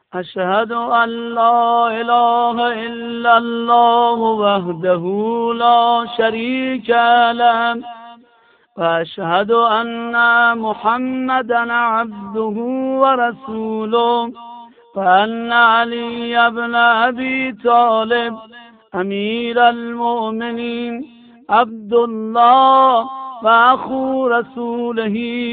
أشهد أن لا إله إلا الله وحده لا شريك له وأشهد أن محمدا عبده ورسوله وأن علي بن أبي طالب أمير المؤمنين عبد الله وأخو رسوله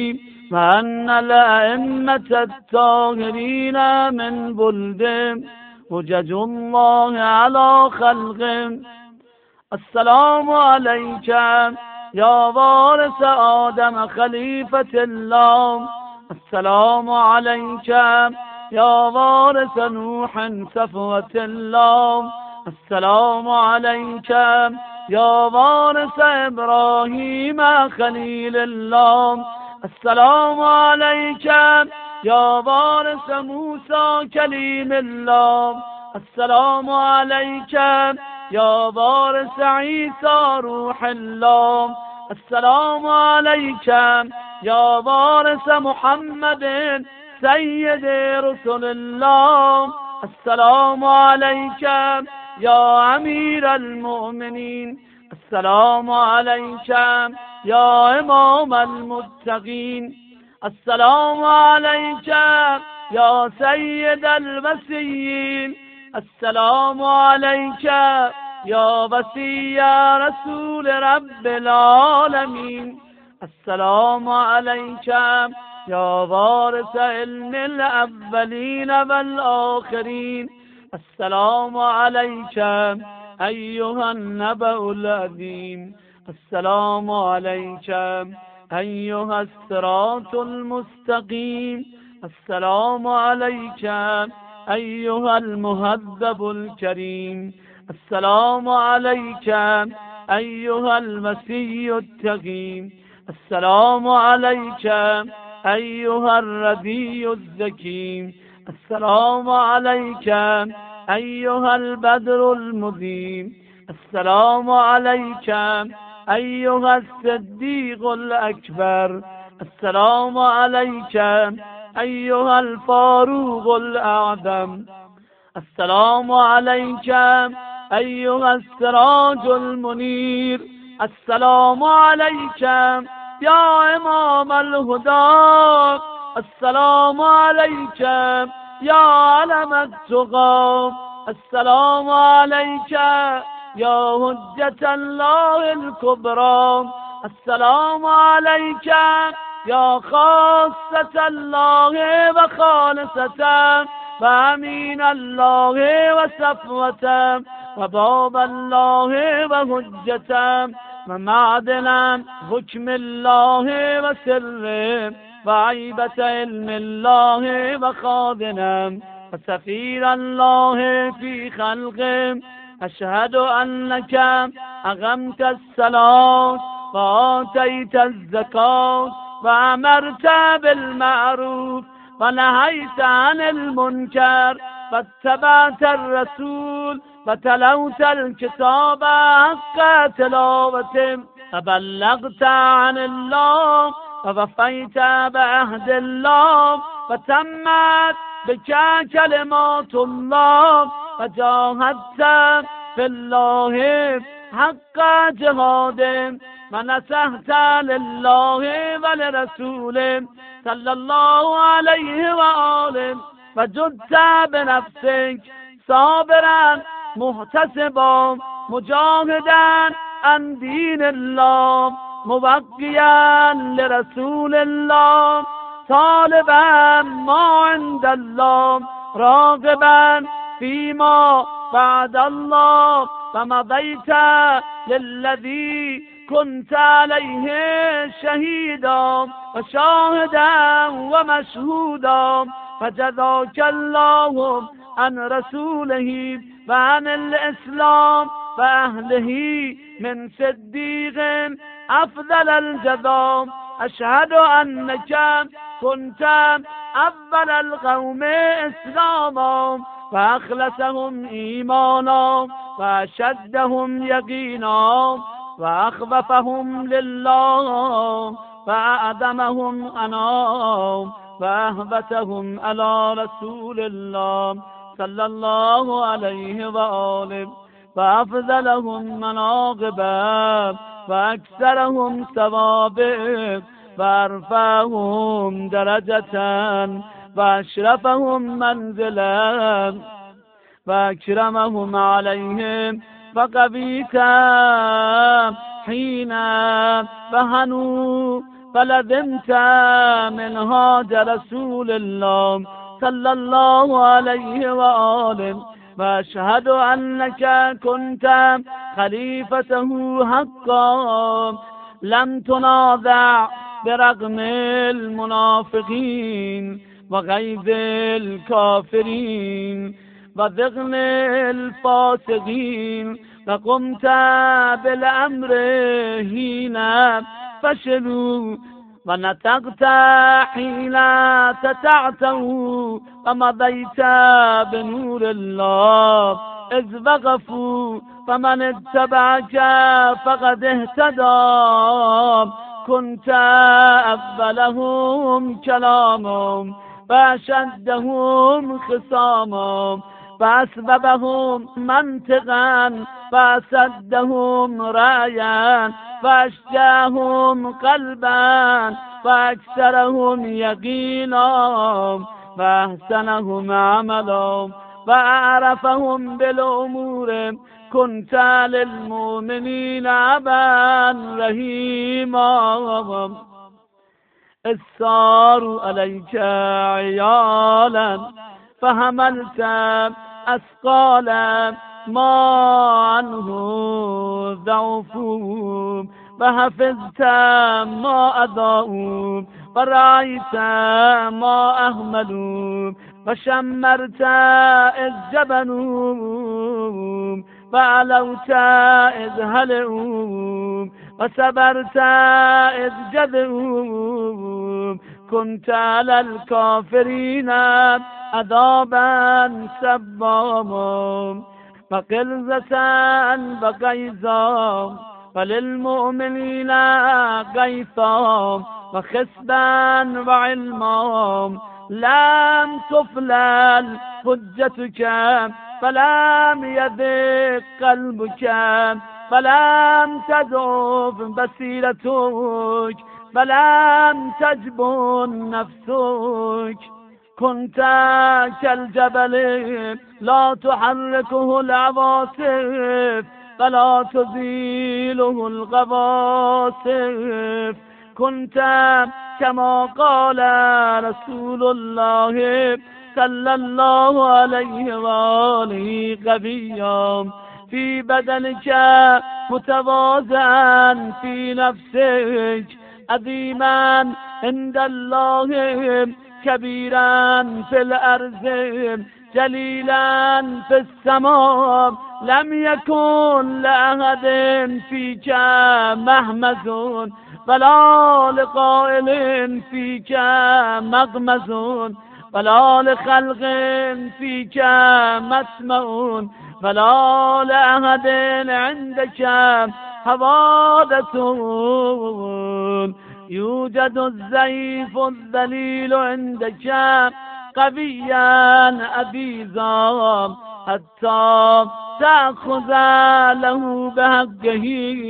وأن الأئمة الطاهرين من بلده حجج الله على خلقه. السلام عليك يا وارث آدم خليفة الله. السلام عليك يا وارث نوح صفوة الله. السلام عليك يا وارث إبراهيم خليل الله. السلام عليك يا وارث موسى كليم الله. السلام عليك يا وارث عيسى روح الله. السلام عليك يا وارث محمد سيد رسل الله. السلام عليك يا أمير المؤمنين. السلام عليك يا إمام المتقين. السلام عليك يا سيد المسيين. السلام عليك يا وصي رسول رب العالمين. السلام عليك يا وارث علم الأولين والآخرين. السلام عليك أيها النبأ العظيم. السلام عليك أيها الصراط المستقيم. السلام عليك أيها المهذب الكريم. السلام عليك أيها المسيح التقي. السلام عليك أيها الردي الذكي. السلام عليك أيها البدر المضيء. السلام عليك أيها الصديق الأكبر. السلام عليك أيها الفاروق الأعظم. السلام عليك أيها السراج المنير. السلام عليك يا إمام الهدى. السلام عليك يا علم التقى. السلام عليك يا حجة الله الكبرى. السلام عليك يا خاصة الله وخالصة وأمين الله وصفوة وباب الله وحجة ومعدن حكم الله وسر وعيبة علم الله وخادنا وسفير الله في خلقه. أشهد أنك أقمت الصلاة وآتيت الزكاة وأمرت بالمعروف ونهيت عن المنكر واتبعت الرسول وتلوت الكتاب حق تلاوته وبلغت عن الله ووفيت بعهد الله وتمت بك كلمات الله وجاهدت في الله حق جهاده ونصحت لله ولرسوله صلى الله عليه وآله وجدت بنفسك صابرا محتسبا مجاهدا عن دين الله مبقيا لرسول الله طالبا ما عند الله راغبا فيما بعد الله فمضيت للذي كنت عليه شهيدا وشاهدا ومشهودا فجزاك الله عن رسوله وعن الإسلام وأهله من صديق أفضل الجزاء. أشهد أنك كنت أول القوم إسلاما وأخلصهم إيمانا وأشدهم يقينا وأخوفهم لله وأعظمهم أنا فأهبتهم على رسول الله صلى الله عليه وآله فأفضلهم مناقبا فأكثرهم ثوابا فأرفعهم درجة فأشرفهم منزلا فأكرمهم عليهم فقبيت حين فهنوا فلزمت منهاج رسول الله صلى الله عليه وآله وأشهد أنك كنت خليفته حقا لم تنازع برغم المنافقين وغيظ الكافرين وذغن الفاسقين وقمت بالأمر حين فشلوا ونطقت حين تتعتوا ومضيت بنور الله إذ وقفوا فمن اتبعك فقد اهتدى كنت أفضلهم كلاما فأشدهم خصاما فأسببهم منطقا فأسدهم رأيا فأشجاهم قلبا فأكثرهم يقينا فأحسنهم عملا فأعرفهم بالأمور كنت للمؤمنين أبا رحيما السار عليك عيالا فحملت أثقالا ما عنه ضعفوا فحفظت ما أضاءوا فرأيت ما أهملوا فشمرت إذ جبنوا فعلوت إذ هلعوا وصبرت إذ جذعوا كنت على الكافرين عذابا سباما فقلزة وغيظا وللمؤمنين غيثا وخسبا وعلما لم تفلل حجتك فلم يضيق قلبك فلم تضعف بصيرتك فلم تجبن نفسك كنت كالجبل لا تحركه العواصف فلا تزيله الغواصف كنت كما قال رسول الله صلى الله عليه وآله قويا في بدنك متواضعا في نفسك عظيما عند الله كبيرا في الأرض جليلا في السماء لم يكن لأحد فيك مهمز ولا لقائل فيك مغمز ولا لخلق فيك مسمع ولا لأحد عندك حوادث يوجد الزيف الذليل عندك قويا أبيزا حتى تأخذ له بحقه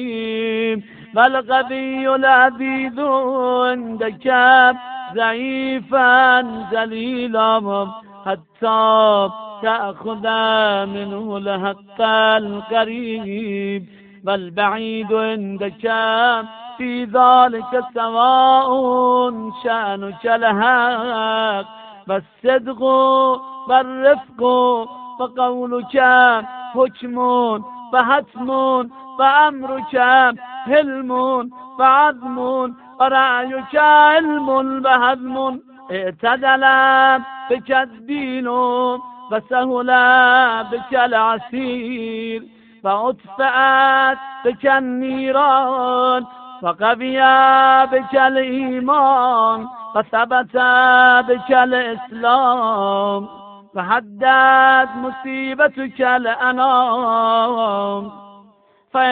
والقوي العبيد عندك ضعيفا ذليلا حتى تأخذ منه الحق القريب والبعيد عندك في ذلك سواء شأنك الحق والصدق والرفق فقولك حكم فحتم فأمرك حلم فعظم ورأيك علم وهضم اعتدل بك الدين فسهل بك العسير فأطفأت بك النيران فقوي بك الإيمان فثبت بك الإسلام فحدت مصيبتك الأنام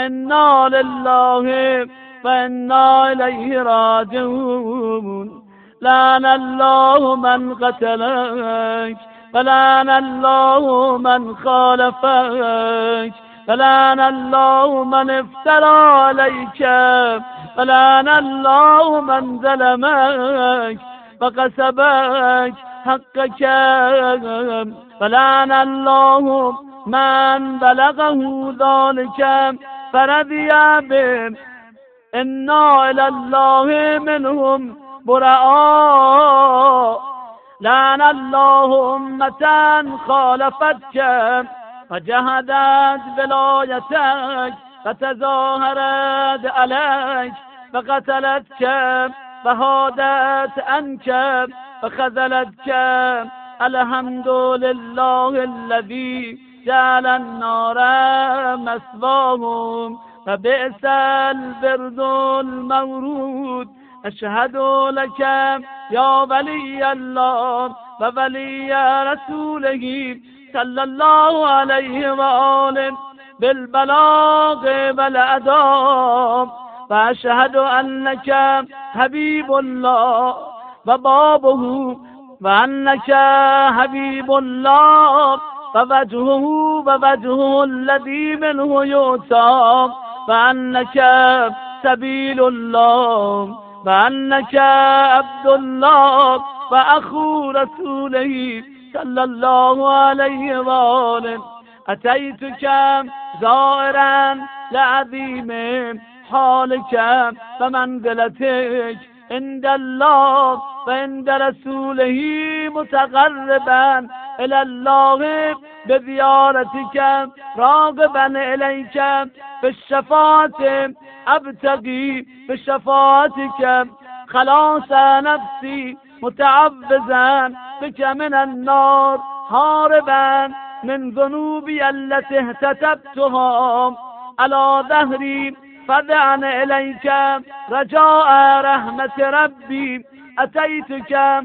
فإنا لله فإنا إليه راجعون لعن الله من قتلك ولعن الله من خالفك ولعن الله من افترى عليك ولعن الله من ظلمك وقسبك حقك ولعن الله من بلغه ذلك فرضي به إنا إلى الله منهم براء لعن الله أمة خالفتك وجهدت بلايتك فتظاهرت عليك فقتلتك فهادت عنك فخذلتك الحمد لله الذي جعل النار مثواهم فبئس البرد المورود أشهد لك يا ولي الله وولي رسوله صلى الله عليه وآله بالبلاغ والأداء وأشهد أنك حبيب الله وبابه وأنك حبيب الله ووجهه ووجهه الذي منه يؤتى وأنك سبيل الله وأنك عبد الله وأخو رسوله صلى الله عليه وآله أتيتك زائرا لعظيم حالك ومنزلتك عند الله وعند رسوله متقربا إلى الله بزيارتك راغبا إليك بالشفاعة أبتغي بشفاعتك خلاص نفسي متعبزا بك من النار هاربا من ذنوبي التي اهتتبتها على ظهري فدعا إليك رجاء رحمة ربي أتيتك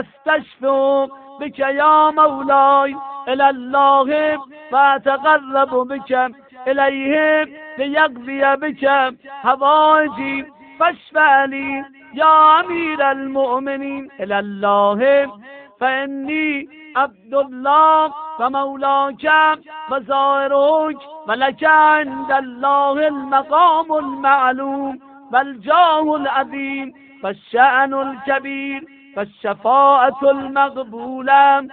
أستشفع بك يا مولاي إلى الله فأتقرب بك إليه ليقضي بك حوائجي فاشفع لي يا أمير المؤمنين إلى الله فإني عبد الله ومولاك وزائرك ولك عند الله المقام المعلوم والجاه العظيم والشأن الكبير والشفاعة المقبولة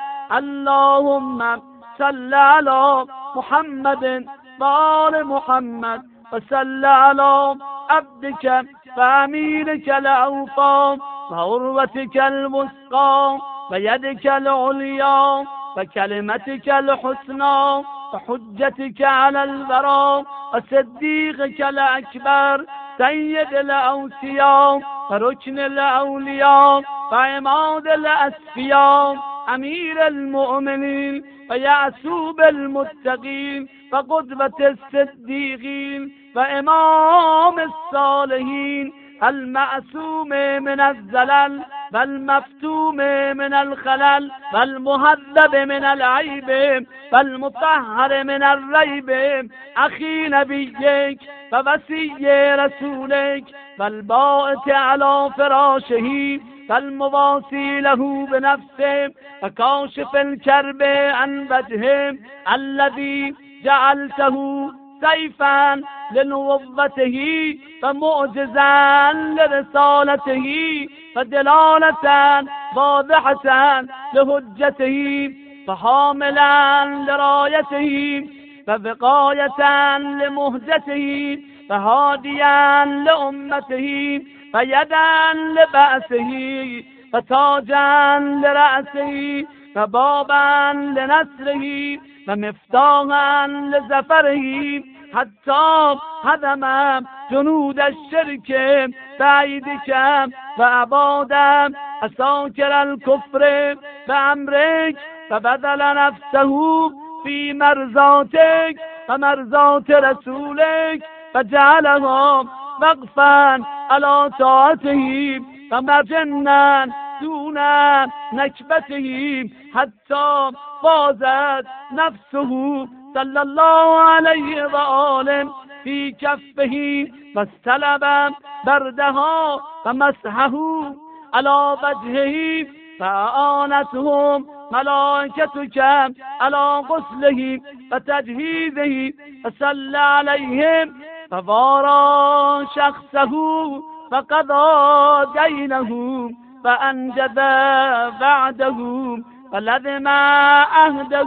اللهم صل على محمد وآل محمد وصل على عبدك وأمينك الأوفى وعروتك الوثقى ويدك العليا وكلمتك الحسنى وحجتك على الورى وصديقك الأكبر سيد الأوصياء وركن الأولياء وعماد الأسفياء أمير المؤمنين ويعسوب المتقين وقدوة الصديقين وإمام الصالحين المعصوم من الزلل والمفتوم من الخلل والمهذب من العيب والمطهر من الريب أخي نبيك ووصي رسولك والبائت على فراشه فالمواصي له بنفسه وكاشف الكرب عن وجهه الذي جعلته سيفا لنبوته فمعجزا لرسالته فدلالة واضحة لهجته فحاملا لرايته فوقاية لمهجته فهاديا لأمته فيدا لبأسه فتاجا لرأسه فبابا لنسره ومفتاحا لزفره حتى هدم جنود الشرك بعيدك وأباد أساكر الكفر بأمرك فبذل نفسه في مرضاتك ومرضات رسولك فجعلها وقفا على طاعته ومجنا دون نكبته حتى فازت نفسه صلى الله عليه وآله في كفه واستلب بردها ومسحه على وجهه فأعانتهم ملائكتك على غسله وتجهيزه فصلى عليهم فوارى شخصه فقضى دينه فأنجز بعده فلزم عهده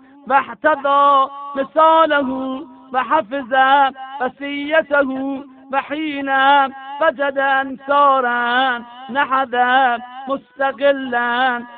واحتضى مثاله وحفظ وصيته وحين وجد أنصارا نحذ مستقلا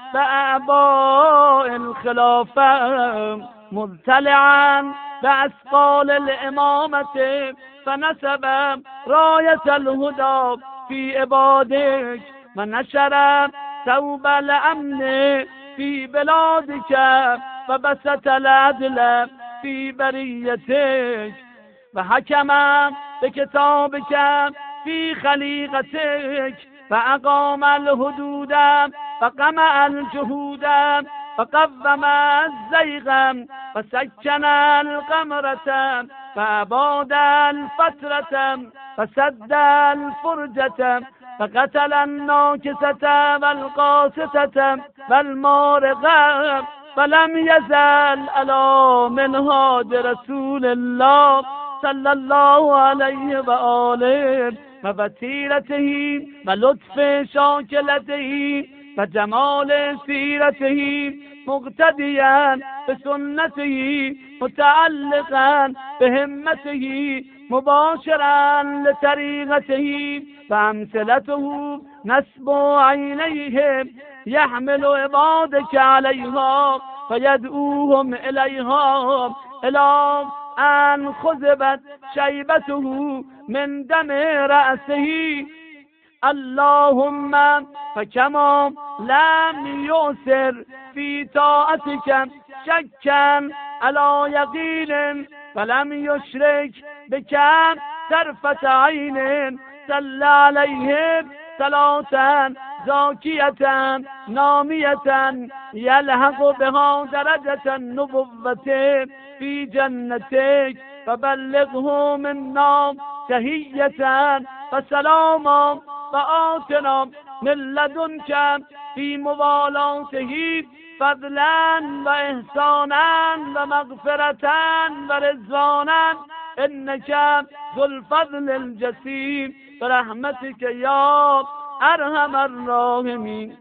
بأعباء الخلافة مطلعا بأثقال الإمامة فنسب راية الهدى في عبادك ونشر ثوب الأمن في بلادك فبسط العدل في بريتك وحكم بكتابك في خليقتك فأقام الحدود فقمع الجهود فقوم الزيغ فسكن القمرة فأباد الفترة فسد الفرجة فقتل الناكسة والقاسطة والمارقة فلم يزل ألا منهاج رسول الله صلى الله عليه وآله وفتيرته ولطف شاكلته وجمال سيرته مقتديا بسنته متعلقا بهمته مباشرا لطريقته فأمثلته نسب عينيه يحمل عبادك عليها فيدعوهم إليها إلى أن خذبت شيبته من دم رأسه اللهم فكما لم يؤثر في طاعتك شكا على يقين فلم يشرك بك طرفة عين صلى عليه صلاة زاكية نامية يلحق بها درجة النبوة في جنتك فبلغه منا تحية فسلاما وآتنا من لدنك في موالاته فضلا وإحسانا ومغفرة ورضوانا إنك ذو الفضل الجسيم برحمتك يا أرحم الراحمين.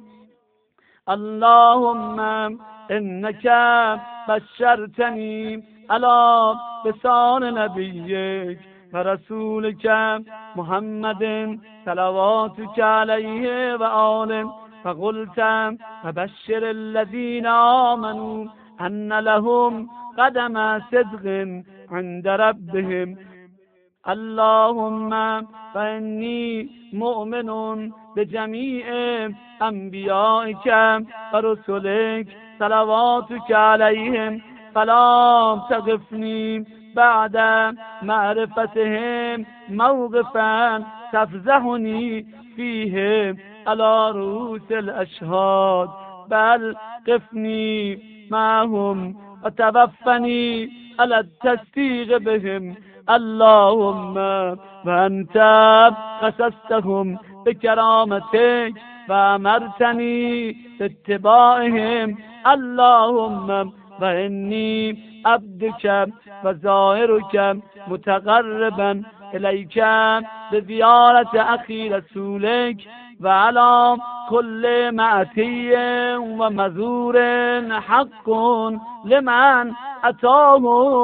اللهم إنك بشرتني على لسان نبيك ورسولك محمد صلواتك عليه وآله فقلت فبشر الذين آمنوا أن لهم قدم صدق عند ربهم. اللهم فإني مؤمن بجميع أنبيائك ورسلك صلواتك عليهم فلا تغفني بعد معرفتهم موقفا تفزحني فيه على رؤوس الأشهاد بل قفني معهم وتوفني على التصديق بهم. اللهم وأنت قصصتهم بكرامتك فأمرتني باتباعهم. اللهم وإني عبدك وزائرك متقربا إليك بزيارة أخي رسولك وعلى كل مأتي ومزور حق لمن أتاه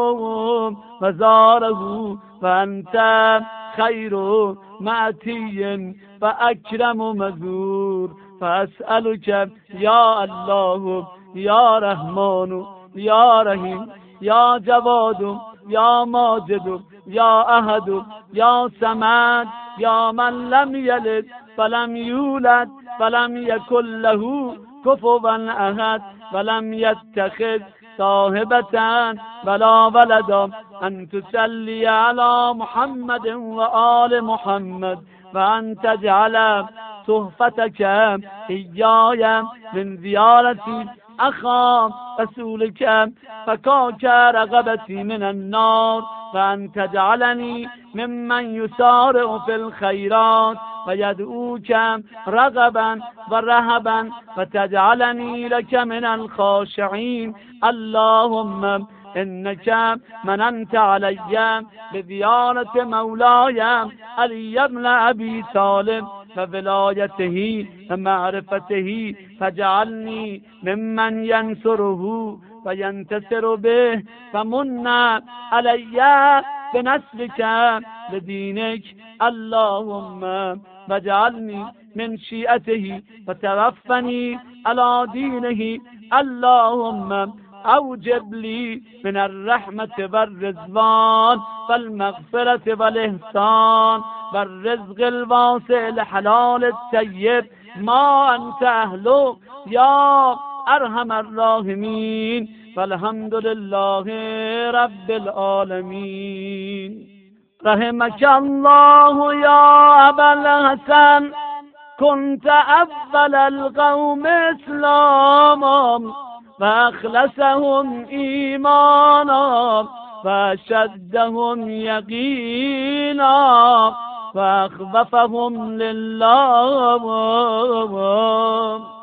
وزاره وأنت خير مأتي فأكرم مزور فأسألك يا الله يا رحمن يا رحيم يا جواد يا ماجد يا أحد يا صمد يا من لم يلد فلم يولد فلم يكن له كفوا أحد ولم يتخذ صاحبة ولا ولدا أن تصلي على محمد وآل محمد وأن تجعل صحفتك إياي من زيارة أخا رسولك فكاك رغبتي من النار وأن تجعلني ممن يسارع في الخيرات و یدعوک رغبا و رهبا و تجعلنی لك من الخاشعین. اللهم انك مننت علی بزیارت مولاي علی بن ابی طالب و ولایته و معرفته، فجعلنی ممن ینصره و ینتصر به و من علی بنصرك لدینک. اللهم واجعلنی من شیعته و توفنی علی دینه. اللهم اوجب لی من الرحمت والرضوان والمغفرة والاحسان والرزق الواسع الحلال الطیب ما انت اهله یا ارحم الراحمین. والحمد لله رب العالمین. رحمك الله یا ابا الحسن، كنت اول القوم اسلاما و اخلصهم ایمانا و اشدهم یقینا و اخوفهم لله.